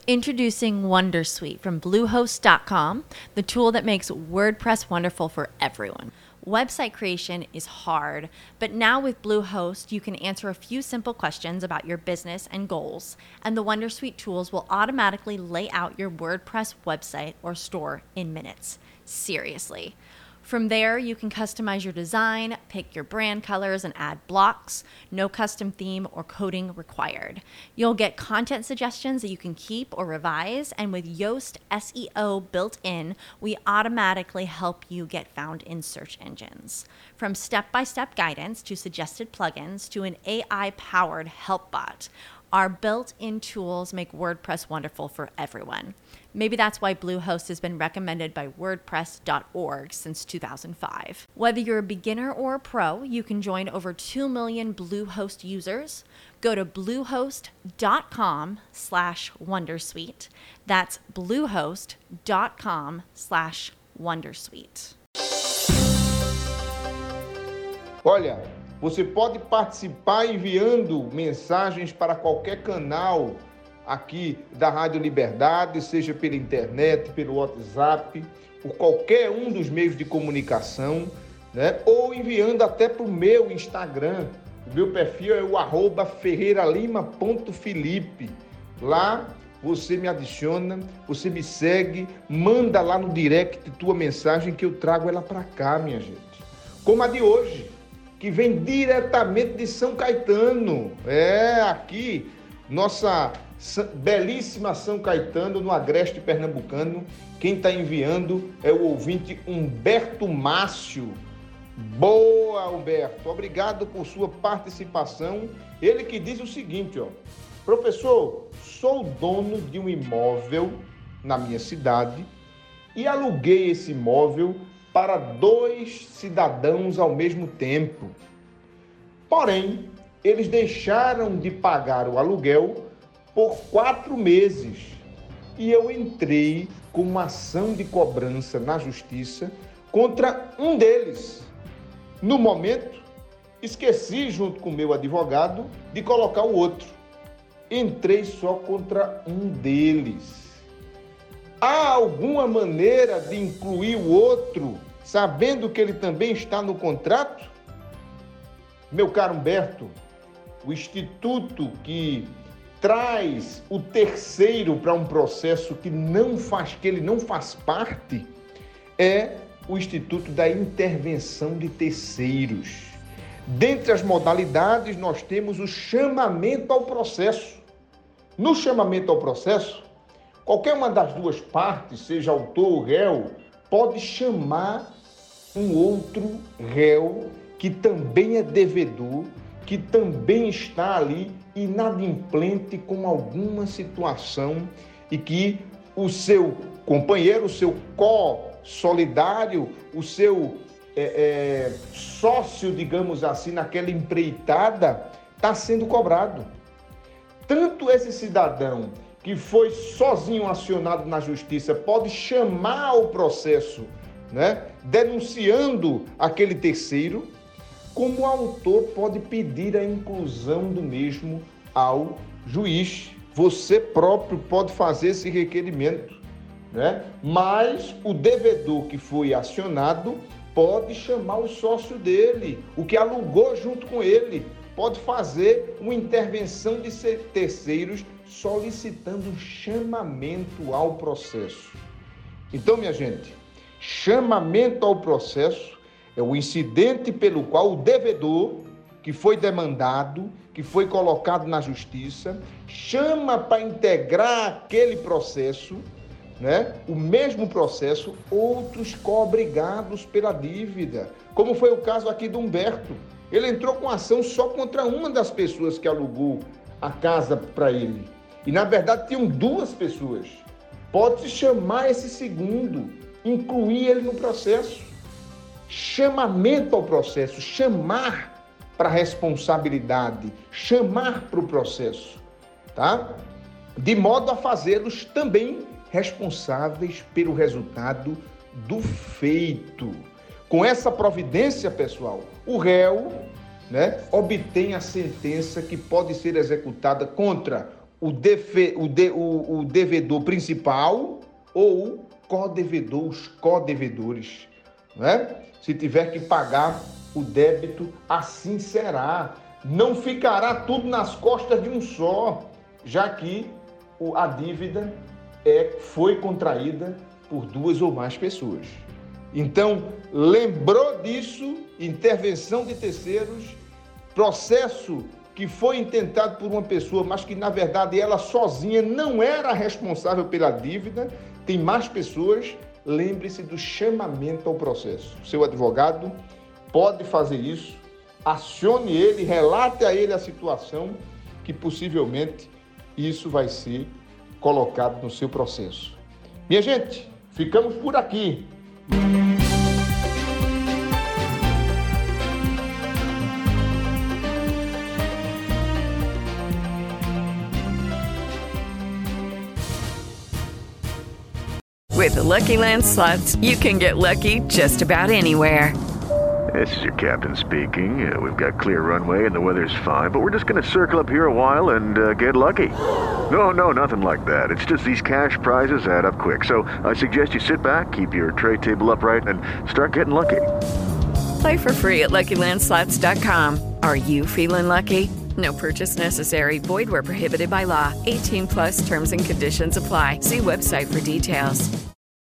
Introducing Wondersuite from Bluehost.com, the tool that makes WordPress wonderful for everyone. Website creation is hard, but now with Bluehost, you can answer a few simple questions about your business and goals, and the Wondersuite tools will automatically lay out your WordPress website or store in minutes. Seriously. From there, you can customize your design, pick your brand colors, and add blocks. No custom theme or coding required. You'll get content suggestions that you can keep or revise, and with Yoast SEO built in, we automatically help you get found in search engines. From step-by-step guidance to suggested plugins to an AI-powered help bot, our built-in tools make WordPress wonderful for everyone. Maybe that's why Bluehost has been recommended by WordPress.org since 2005. Whether you're a beginner or a pro, you can join over 2 million Bluehost users. Go to bluehost.com/wondersuite. That's bluehost.com/wondersuite. Olha, você pode participar enviando mensagens para qualquer canal aqui da Rádio Liberdade, seja pela internet, pelo WhatsApp, por qualquer um dos meios de comunicação, né? Ou enviando até para o meu Instagram. O meu perfil é o @ferreiralima.felipe. Lá você me adiciona, você me segue, manda lá no direct tua mensagem que eu trago ela para cá, minha gente. Como a de hoje, que vem diretamente de São Caetano. Aqui, nossa belíssima São Caetano, no agreste pernambucano. Quem está enviando é o ouvinte Humberto Márcio. Boa, Humberto. Obrigado por sua participação. Ele que diz o seguinte, ó. Professor, sou dono de um imóvel na minha cidade e aluguei esse imóvel para 2 cidadãos ao mesmo tempo. Porém, eles deixaram de pagar o aluguel por 4 meses e eu entrei com uma ação de cobrança na justiça contra um deles. No momento, esqueci, junto com o meu advogado, de colocar o outro. Entrei só contra um deles. Há alguma maneira de incluir o outro, sabendo que ele também está no contrato? Meu caro Humberto, o instituto que traz o terceiro para um processo que ele não faz parte é o Instituto da Intervenção de Terceiros. Dentre as modalidades, nós temos o chamamento ao processo. No chamamento ao processo, qualquer uma das duas partes, seja autor ou réu, pode chamar um outro réu que também é devedor, que também está ali inadimplente com alguma situação e que o seu companheiro, o seu co-solidário, o seu sócio, digamos assim, naquela empreitada, está sendo cobrado. Tanto esse cidadão que foi sozinho acionado na justiça pode chamar o processo, né, denunciando aquele terceiro, como o autor pode pedir a inclusão do mesmo ao juiz. Você próprio pode fazer esse requerimento, né? Mas o devedor que foi acionado pode chamar o sócio dele, o que alugou junto com ele, pode fazer uma intervenção de terceiros solicitando chamamento ao processo. Então, minha gente, chamamento ao processo é o incidente pelo qual o devedor, que foi demandado, que foi colocado na justiça, chama para integrar aquele processo, né? O mesmo processo, outros co-obrigados pela dívida, como foi o caso aqui do Humberto. Ele entrou com ação só contra uma das pessoas que alugou a casa para ele. E, na verdade, tinham 2 pessoas. Pode-se chamar esse segundo, incluir ele no processo. Chamamento ao processo, chamar para a responsabilidade, chamar para o processo, tá? De modo a fazê-los também responsáveis pelo resultado do feito. Com essa providência, pessoal, o réu, né, obtém a sentença que pode ser executada contra o devedor principal ou o co-devedor, os co-devedores, né? Se tiver que pagar o débito, assim será. Não ficará tudo nas costas de um só, já que a dívida foi contraída por duas ou mais pessoas. Então, lembrou disso, intervenção de terceiros, processo que foi intentado por uma pessoa, mas que, na verdade, ela sozinha não era responsável pela dívida, tem mais pessoas, lembre-se do chamamento ao processo. Seu advogado pode fazer isso, acione ele, relate a ele a situação, que possivelmente isso vai ser colocado no seu processo. Minha gente, ficamos por aqui. With the Lucky Land Slots, you can get lucky just about anywhere. This is your captain speaking. We've got clear runway and the weather's fine, but we're just going to circle up here a while and get lucky. No, nothing like that. It's just these cash prizes add up quick. So I suggest you sit back, keep your tray table upright, and start getting lucky. Play for free at LuckyLandSlots.com. Are you feeling lucky? No purchase necessary. Void where prohibited by law. 18+ terms and conditions apply. See website for details.